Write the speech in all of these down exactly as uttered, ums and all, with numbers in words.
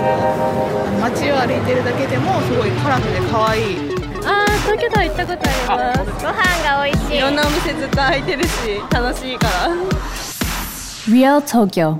あの街を歩いてるだけでもすごいカラフルで可愛い。 あー、東京タワー行ったことあります。ご飯が美味しい。 いろんなお店ずっと開いてるし楽しいから。 Real Tokyo.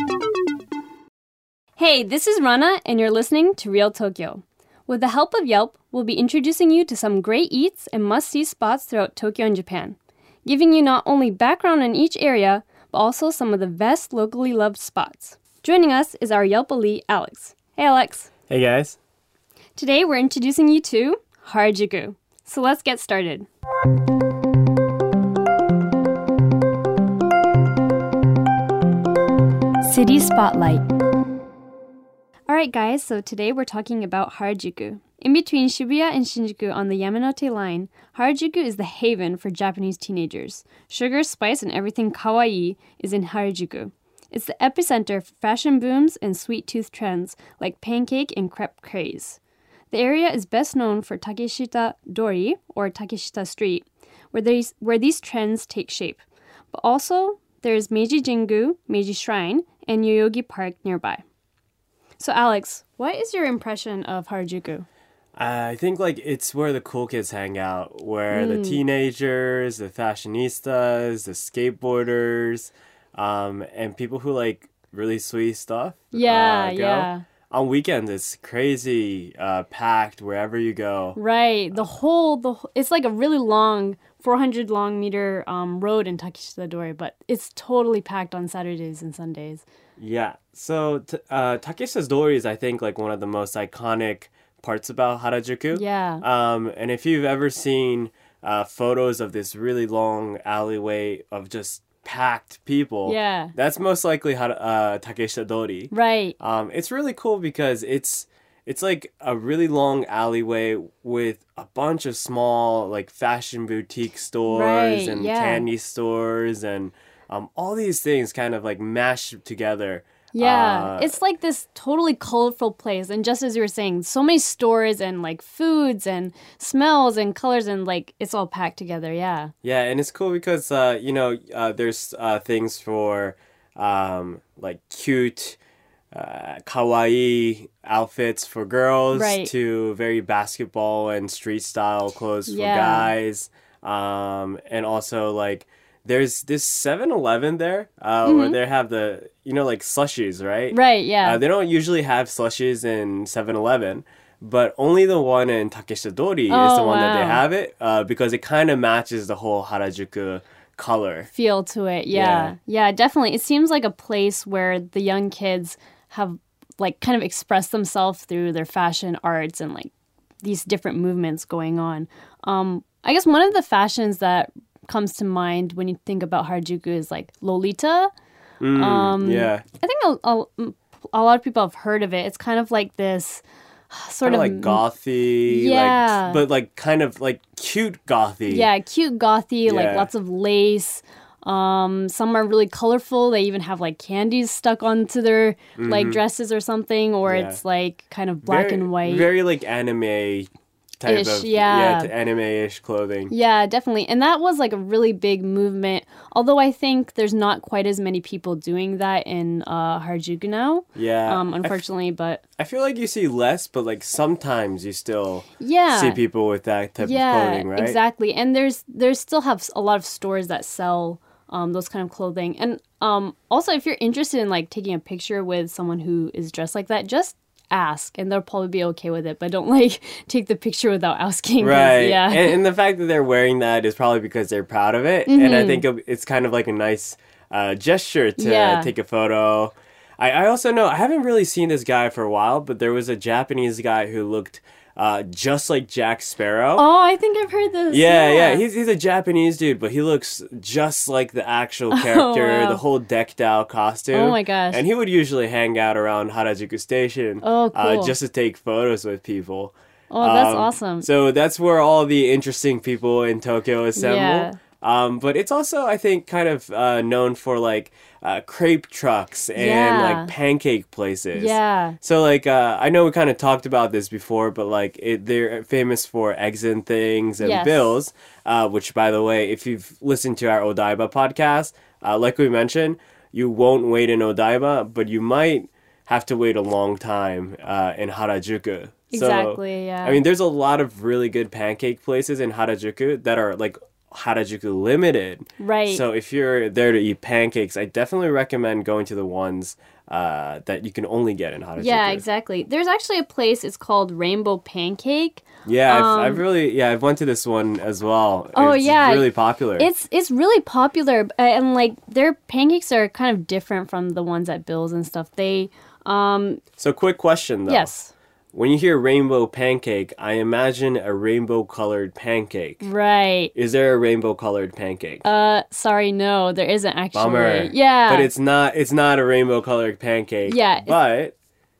Hey, this is Rana, and you're listening to Real Tokyo. With the help of Yelp, we'll be introducing you to some great eats and must-see spots throughout Tokyo and Japan, giving you not only background on each area, but also some of the best locally loved spots. Joining us is our Yelp elite, Alex. Hey, Alex. Hey, guys. Today, we're introducing you to Harajuku. So let's get started. City Spotlight. Alright guys, so today we're talking about Harajuku. In between Shibuya and Shinjuku on the Yamanote line, Harajuku is the haven for Japanese teenagers. Sugar, spice, and everything kawaii is in Harajuku. It's the epicenter for fashion booms and sweet tooth trends like pancake and crepe craze. The area is best known for Takeshita Dori, or Takeshita Street, where these, where these trends take shape. But also, there's Meiji Jingu, Meiji Shrine, and Yoyogi Park nearby. So Alex, what is your impression of Harajuku? I think like it's where the cool kids hang out, where Mm. the teenagers, the fashionistas, the skateboarders, um, and people who like really sweet stuff. Yeah, uh, go. yeah. On weekends, it's crazy, uh, packed wherever you go. Right. The whole, the wh- it's like a really long, four hundred long meter um, road in Takeshita Dori, but it's totally packed on Saturdays and Sundays. Yeah. So t- uh, Takeshita Dori is, I think, like one of the most iconic parts about Harajuku. Yeah. Um, and if you've ever seen uh, photos of this really long alleyway of just packed people, Yeah. that's most likely Hara- uh, Takeshita Dori. Right. Um, it's really cool because it's it's like a really long alleyway with a bunch of small like fashion boutique stores Right, and yeah. candy stores and um, all these things kind of like mashed together. Yeah. Uh, It's like this totally colorful place. And just as you were saying, so many stores and like foods and smells and colors and like it's all packed together. Yeah. Yeah, and it's cool because, uh, you know, uh, there's uh, things for, um, like, cute, uh, kawaii outfits for girls Right. to very basketball and street-style clothes for Yeah. guys. Um, and also, like, there's this seven eleven there uh, where they have the, you know, like, slushies, right? Mm-hmm. Right. Yeah. Uh, they don't usually have slushies in seven eleven, but only the one in Takeshita Dori is Oh, the one that they wow. have it uh, because it kind of matches the whole Harajuku color. Feel to it. Yeah. yeah. definitely. It seems like a place where the young kids have like kind of expressed themselves through their fashion arts and like these different movements going on. Um, I guess one of the fashions that comes to mind when you think about Harajuku is like Lolita. Mm, Um, yeah. I think a, a, a lot of people have heard of it. It's kind of like this sort Kind of of like gothy, Yeah. like, but like kind of like cute gothy. Yeah, cute gothy, like Yeah. lots of lace. Um, some are really colorful. They even have like candies stuck onto their like dresses or something, or Mm-hmm. Yeah. it's like kind of black very, and white. Very like anime type Ish, of yeah. t- anime-ish clothing. Yeah, definitely. And that was like a really big movement. Although I think there's not quite as many people doing that in uh, Harajuku now. Yeah. Um, I f- unfortunately, but I feel like you see less, but like sometimes you still yeah. see people with that type yeah, of clothing, right? exactly. And there's there's still have a lot of stores that sell um, those kind of clothing. And um, also, if you're interested in like taking a picture with someone who is dressed like that, just ask, and they'll probably be okay with it. But don't like take the picture without asking. 'cause, Right. Yeah. And, and the fact that they're wearing that is probably because they're proud of it. And Mm-hmm. I think it's kind of like a nice uh, gesture to Yeah. take a photo. I, I also know, I haven't really seen this guy for a while, but there was a Japanese guy who looked uh, just like Jack Sparrow. Oh, I think I've heard this. Yeah, yeah, He's he's a Japanese dude, but he looks just like the actual character, wow. the whole decked out costume. Oh my gosh. And he would usually hang out around Harajuku Station Oh, uh, cool. just to take photos with people. Oh, that's Um, awesome. So that's where all the interesting people in Tokyo assemble. Yeah. Um, but it's also, I think, kind of uh, known for like uh, crepe trucks and Yeah. like pancake places. Yeah. So like uh, I know we kind of talked about this before, but like it, they're famous for eggs and things and Yes. bills. Uh, which, by the way, if you've listened to our Odaiba podcast, uh, like we mentioned, you won't wait in Odaiba, but you might have to wait a long time uh, in Harajuku. Exactly, so, yeah. I mean, there's a lot of really good pancake places in Harajuku that are like Harajuku limited. Right. So if you're there to eat pancakes, I definitely recommend going to the ones uh, that you can only get in Harajuku. Yeah, exactly. There's actually a place, it's called Rainbow Pancake. Yeah, I've, Um, I've really, yeah, I've went to this one as well. Oh, it's yeah. really popular. It's it's really popular, uh, and like their pancakes are kind of different from the ones at Bill's and stuff. They, um, So quick question though. yes, When you hear rainbow pancake, I imagine a rainbow colored pancake. right. Is there a rainbow colored pancake? Uh, sorry, no, there isn't actually. Bummer. Yeah, But it's not it's not a rainbow colored pancake. Yeah, it's- But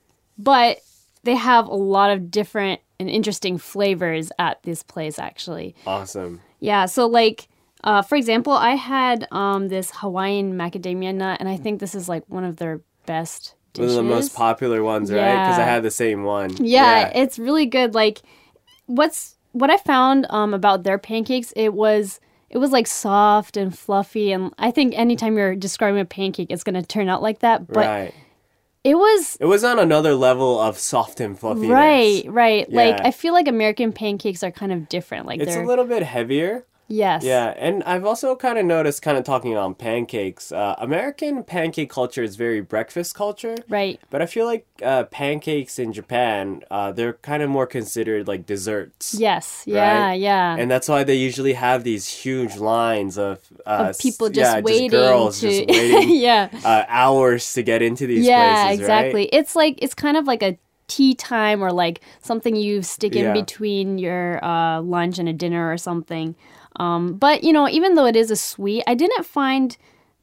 but they have a lot of different and interesting flavors at this place actually. awesome. Yeah, so like uh for example, I had um this Hawaiian macadamia nut, and I think this is like one of their best One dishes. of the most popular ones, right? Because I Yeah. had the same one. Yeah, it's really good. Like what's what I found um about their pancakes, it was it was like soft and fluffy, and I think anytime you're describing a pancake it's going to turn out like that, but right. it was It was on another level of soft and fluffiness. right, right. Like Yeah. I feel like American pancakes are kind of different. Like It's they're a little bit heavier. yes. Yeah, and I've also kind of noticed, kind of talking on pancakes, uh, American pancake culture is very breakfast culture. Right. But I feel like uh, pancakes in Japan, uh, they're kind of more considered like desserts. Yes. Yeah, Right? yeah. And that's why they usually have these huge lines of, uh, of people s- just yeah, waiting just girls to just waiting yeah. uh, hours to get into these Yeah, places, exactly. right? It's like it's kind of like a tea time, or like something you stick in Yeah. between your uh, lunch and a dinner or something. Um, but you know, even though it is a sweet, I didn't find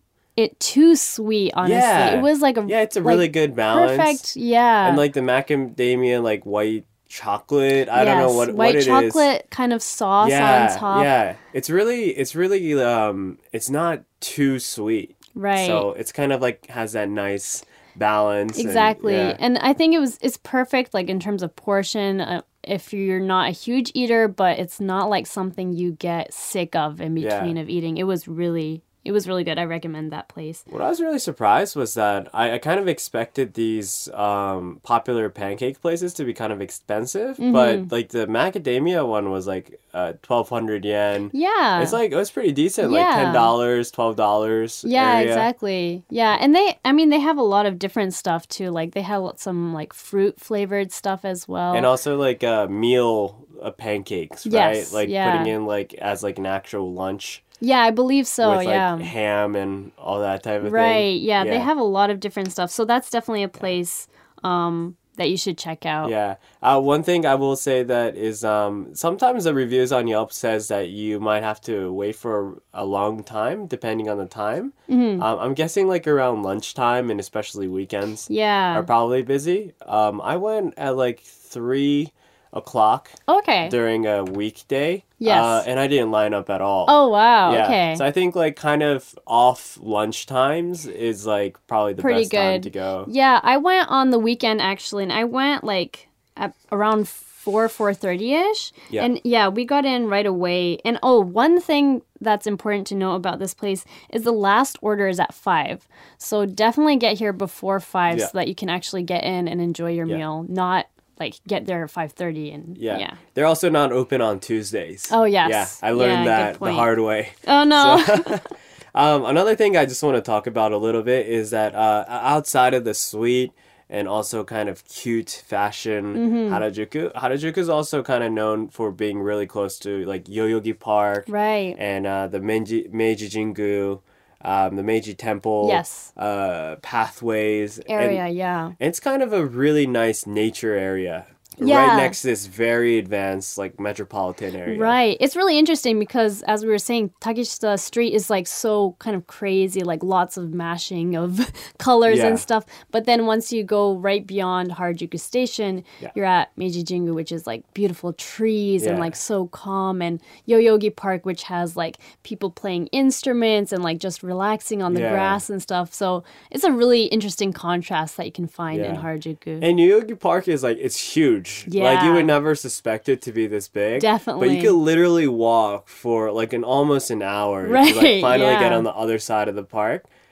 it too sweet. Honestly, Yeah. it was like a Yeah, it's a like, really good balance. perfect. Yeah, And like the macadamia, like white chocolate. I don't know Yes, what, white what it is. chocolate kind of sauce yeah, on top. Yeah, it's really, it's really, um, it's not too sweet. Right. So it's kind of like has that nice balance. and- Exactly. yeah. And I think it was it's perfect like in terms of portion. Uh, if you're not a huge eater, but it's not like something you get sick of in Yeah. between of eating. It was really it was really good. I recommend that place. What I was really surprised was that I, I kind of expected these um, popular pancake places to be kind of expensive, Mm-hmm. but like the macadamia one was like uh, twelve hundred yen. Yeah. It's like, it was pretty decent, like Yeah. ten dollars, twelve dollars. yeah, area. exactly. Yeah, and they I mean they have a lot of different stuff too. Like they have some like fruit flavored stuff as well. And also like uh, meal uh, pancakes, right? Yes, Like yeah. putting in like as like an actual lunch yeah, I believe so. with like yeah. ham and all that type of thing. Right. Yeah, they have a lot of different stuff. So that's definitely a place um, that you should check out. Yeah. Uh, one thing I will say that is um, sometimes the reviews on Yelp says that you might have to wait for a long time depending on the time. Mm-hmm. Um, I'm guessing like around lunchtime and especially weekends Yeah. are probably busy. Um, I went at like three o'clock Okay. during a weekday. Yes. Uh, and I didn't line up at all. Oh wow. Yeah. Okay. So I think like kind of off lunch times is like probably the Pretty best time good. to go. Yeah, I went on the weekend actually, and I went like at around four four thirty ish. Yeah. And yeah, we got in right away. And oh, one thing that's important to know about this place is the last order is at five. So definitely get here before five Yeah. so that you can actually get in and enjoy your Yeah. meal. Not like get there at five thirty and Yeah. yeah. They're also not open on Tuesdays. Oh, yes. Yeah. I learned Yeah, good that the point. hard way. Oh no. Um, another thing I just want to talk about a little bit is that uh, outside of the sweet and also kind of cute fashion Mm-hmm. Harajuku, Harajuku is also kind of known for being really close to like Yoyogi Park Right. and uh, the Meiji, Meiji Jingu, um, the Meiji Temple, Yes. uh, pathways. Area, And, yeah. and it's kind of a really nice nature area. Yeah. Right next to this very advanced like metropolitan area. Right. It's really interesting because, as we were saying, Takeshita Street is like so kind of crazy, like lots of mashing of colors Yeah. and stuff. But then once you go right beyond Harajuku Station, Yeah. you're at Meiji Jingu, which is like beautiful trees and Yeah. like so calm, and Yoyogi Park, which has like people playing instruments and like just relaxing on the Yeah. grass and stuff. So it's a really interesting contrast that you can find in Yeah. Harajuku. And Yoyogi Park is like it's huge. Like you Yeah. would never suspect it to be this big. But Definitely. you could literally walk for like an almost an hour to Right, like finally yeah. get on the other side of the park.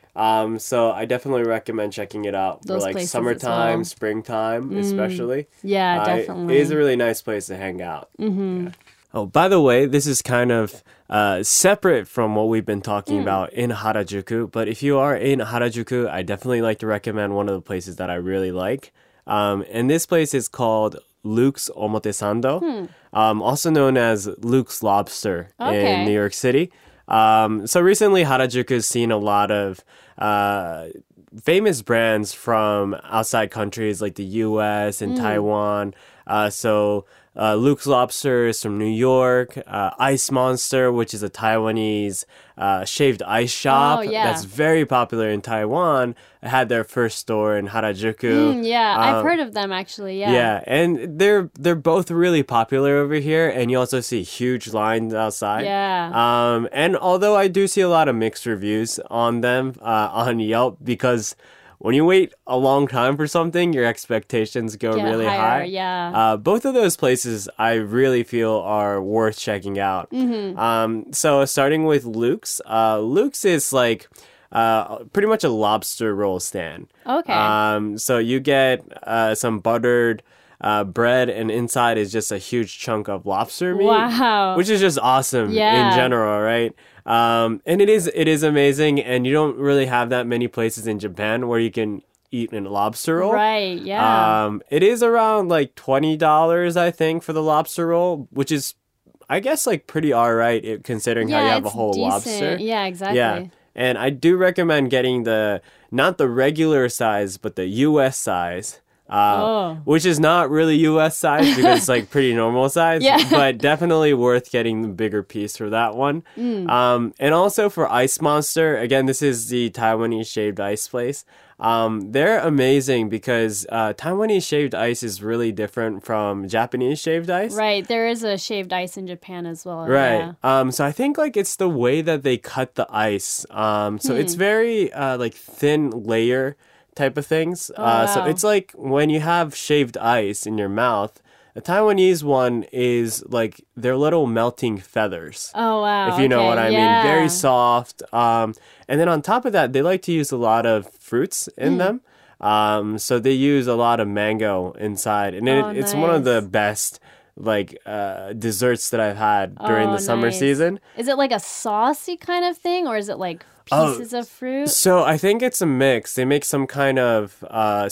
Um, so I definitely recommend checking it out Those for like places as summertime, well. springtime, especially. Yeah, Uh, definitely. It is a really nice place to hang out. Mm-hmm. Yeah. Oh, by the way, this is kind of uh, separate from what we've been talking Mm. about in Harajuku. But if you are in Harajuku, I definitely like to recommend one of the places that I really like. Um, and this place is called Luke's Omotesando, Hmm. um, also known as Luke's Lobster Okay. in New York City. Um, so recently, Harajuku has seen a lot of uh, famous brands from outside countries like the U S and Taiwan. Uh, so uh, Luke's Lobster is from New York. Uh, Ice Monster, which is a Taiwanese uh, shaved ice shop Oh, yeah. that's very popular in Taiwan, had their first store in Harajuku. Mm, yeah, I've Um, heard of them actually. Yeah. yeah, and they're they're both really popular over here, and you also see huge lines outside. Yeah. Um, and although I do see a lot of mixed reviews on them uh, on Yelp, because when you wait a long time for something, your expectations go Get really higher, high. yeah. Uh, both of those places I really feel are worth checking out. Mm-hmm. Um, so starting with Luke's, uh, Luke's is like uh, pretty much a lobster roll stand. Okay. Um, so you get uh, some buttered uh, bread, and inside is just a huge chunk of lobster meat. Wow. Which is just awesome Yeah. in general, right? Um, and it is it is amazing, and you don't really have that many places in Japan where you can eat a lobster roll. Right. Yeah. Um, it is around like twenty dollars, I think, for the lobster roll, which is, I guess, like pretty alright it- considering yeah, how you have a it's whole decent. lobster. Yeah. Exactly. Yeah. And I do recommend getting the, not the regular size, but the U S size. Uh, Oh. Which is not really U S size because it's like pretty normal size, Yeah. but definitely worth getting the bigger piece for that one. Mm. Um, and also for Ice Monster, again, this is the Taiwanese shaved ice place. Um, they're amazing because uh, Taiwanese shaved ice is really different from Japanese shaved ice. Right. There is a shaved ice in Japan as well. Right. Yeah. Um, so I think like it's the way that they cut the ice. Um, so it's Hmm. very uh, like thin layer type of things. uh, So wow. it's like when you have shaved ice in your mouth, the Taiwanese one is like their little melting feathers. Oh wow. If you know okay, what I yeah. mean, very soft. Um, and then on top of that, they like to use a lot of fruits in Hmm. them. Um, so they use a lot of mango inside, and it, Oh, it's one of the nice. best like uh, desserts that I've had during Oh, the summer nice. season. Is it like a saucy kind of thing, or is it like Oh, pieces of fruit? So I think it's a mix. They make some kind of uh,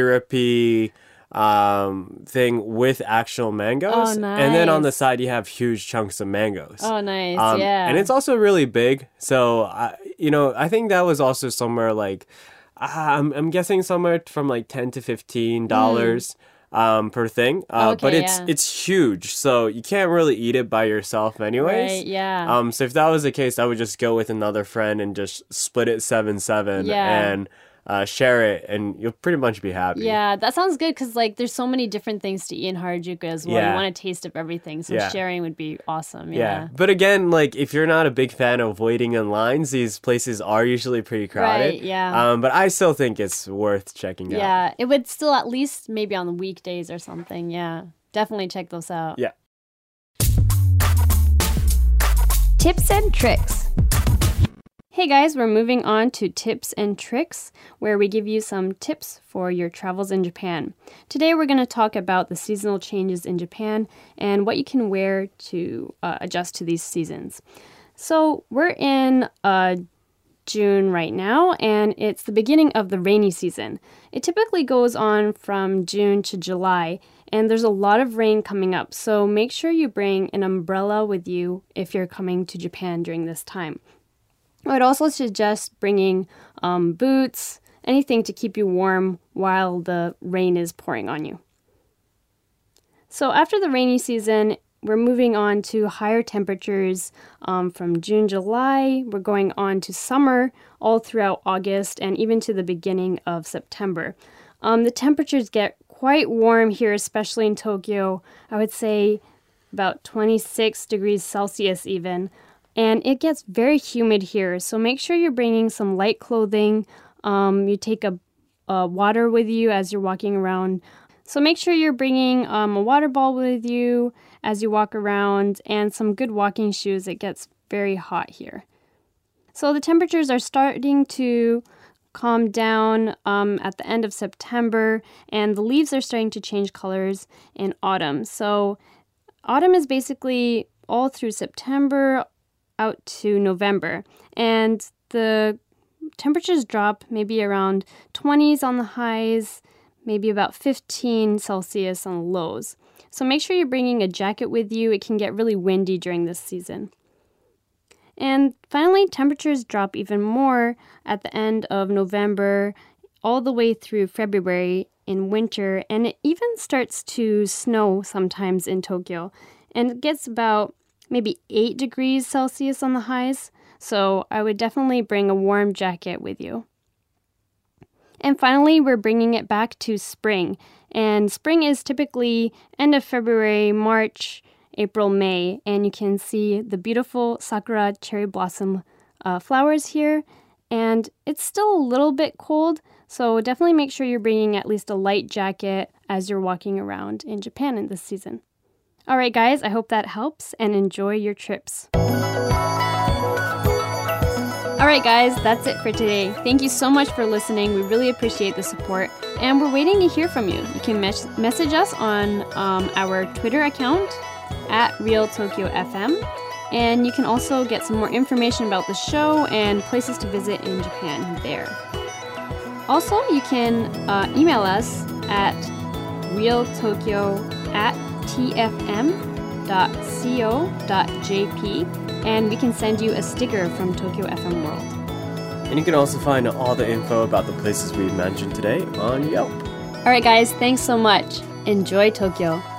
syrupy um, thing with actual mangoes, Oh, and then on the nice. side you have huge chunks of mangoes. Oh, nice. Um, yeah. And it's also really big. So, I, you know, I think that was also somewhere like, uh, I'm, I'm guessing somewhere from like ten to fifteen dollars um, per thing. Uh, but Hmm. Okay, it's yeah. it's huge. So you can't really eat it by yourself anyways. Right, yeah. Um, so if that was the case, I would just go with another friend and just split it seven seven Yeah. and uh, share it, and you'll pretty much be happy. Yeah, that sounds good because like there's so many different things to eat in Harajuku as well. Yeah. You want a taste of everything, so Yeah. sharing would be awesome. Yeah. Yeah. But again, like if you're not a big fan of waiting in lines, these places are usually pretty crowded. Right, yeah. Um, but I still think it's worth checking out. Yeah, it would still at least maybe on the weekdays or something. Yeah, definitely check those out. Yeah. Tips and tricks. Hey guys, we're moving on to tips and tricks, where we give you some tips for your travels in Japan. Today we're going to talk about the seasonal changes in Japan and what you can wear to uh, adjust to these seasons. So we're in uh, June right now, and it's the beginning of the rainy season. It typically goes on from June to July, and there's a lot of rain coming up, so make sure you bring an umbrella with you if you're coming to Japan during this time. I would also suggest bringing um, boots, anything to keep you warm while the rain is pouring on you. So after the rainy season, we're moving on to higher temperatures um, from June, July. We're going on to summer all throughout August and even to the beginning of September. Um, the temperatures get quite warm here, especially in Tokyo. I would say about twenty-six degrees Celsius even. And it gets very humid here, so make sure you're bringing some light clothing. Um, you take a, a water with you as you're walking around. So make sure you're bringing um, a water bottle with you as you walk around and some good walking shoes. It gets very hot here. So the temperatures are starting to calm down um, at the end of September, and the leaves are starting to change colors in autumn. So autumn is basically all through September out to November, and the temperatures drop maybe around twenties on the highs, maybe about fifteen Celsius on the lows. So make sure you're bringing a jacket with you. It can get really windy during this season. And finally, temperatures drop even more at the end of November, all the way through February in winter, and it even starts to snow sometimes in Tokyo. And it gets about maybe eight degrees Celsius on the highs, so I would definitely bring a warm jacket with you. And finally, we're bringing it back to spring. And spring is typically end of February, March, April, May, and you can see the beautiful sakura cherry blossom uh, flowers here. And it's still a little bit cold, so definitely make sure you're bringing at least a light jacket as you're walking around in Japan in this season. All right, guys, I hope that helps, and enjoy your trips. All right, guys, that's it for today. Thank you so much for listening. We really appreciate the support, and we're waiting to hear from you. You can mes- message us on um, our Twitter account, at Real Tokyo F M, and you can also get some more information about the show and places to visit in Japan there. Also, you can uh, email us at realtokyo at t f m dot co dot j p, and we can send you a sticker from Tokyo F M World. And you can also find all the info about the places we've mentioned today on Yelp. All right, guys, thanks so much. Enjoy Tokyo.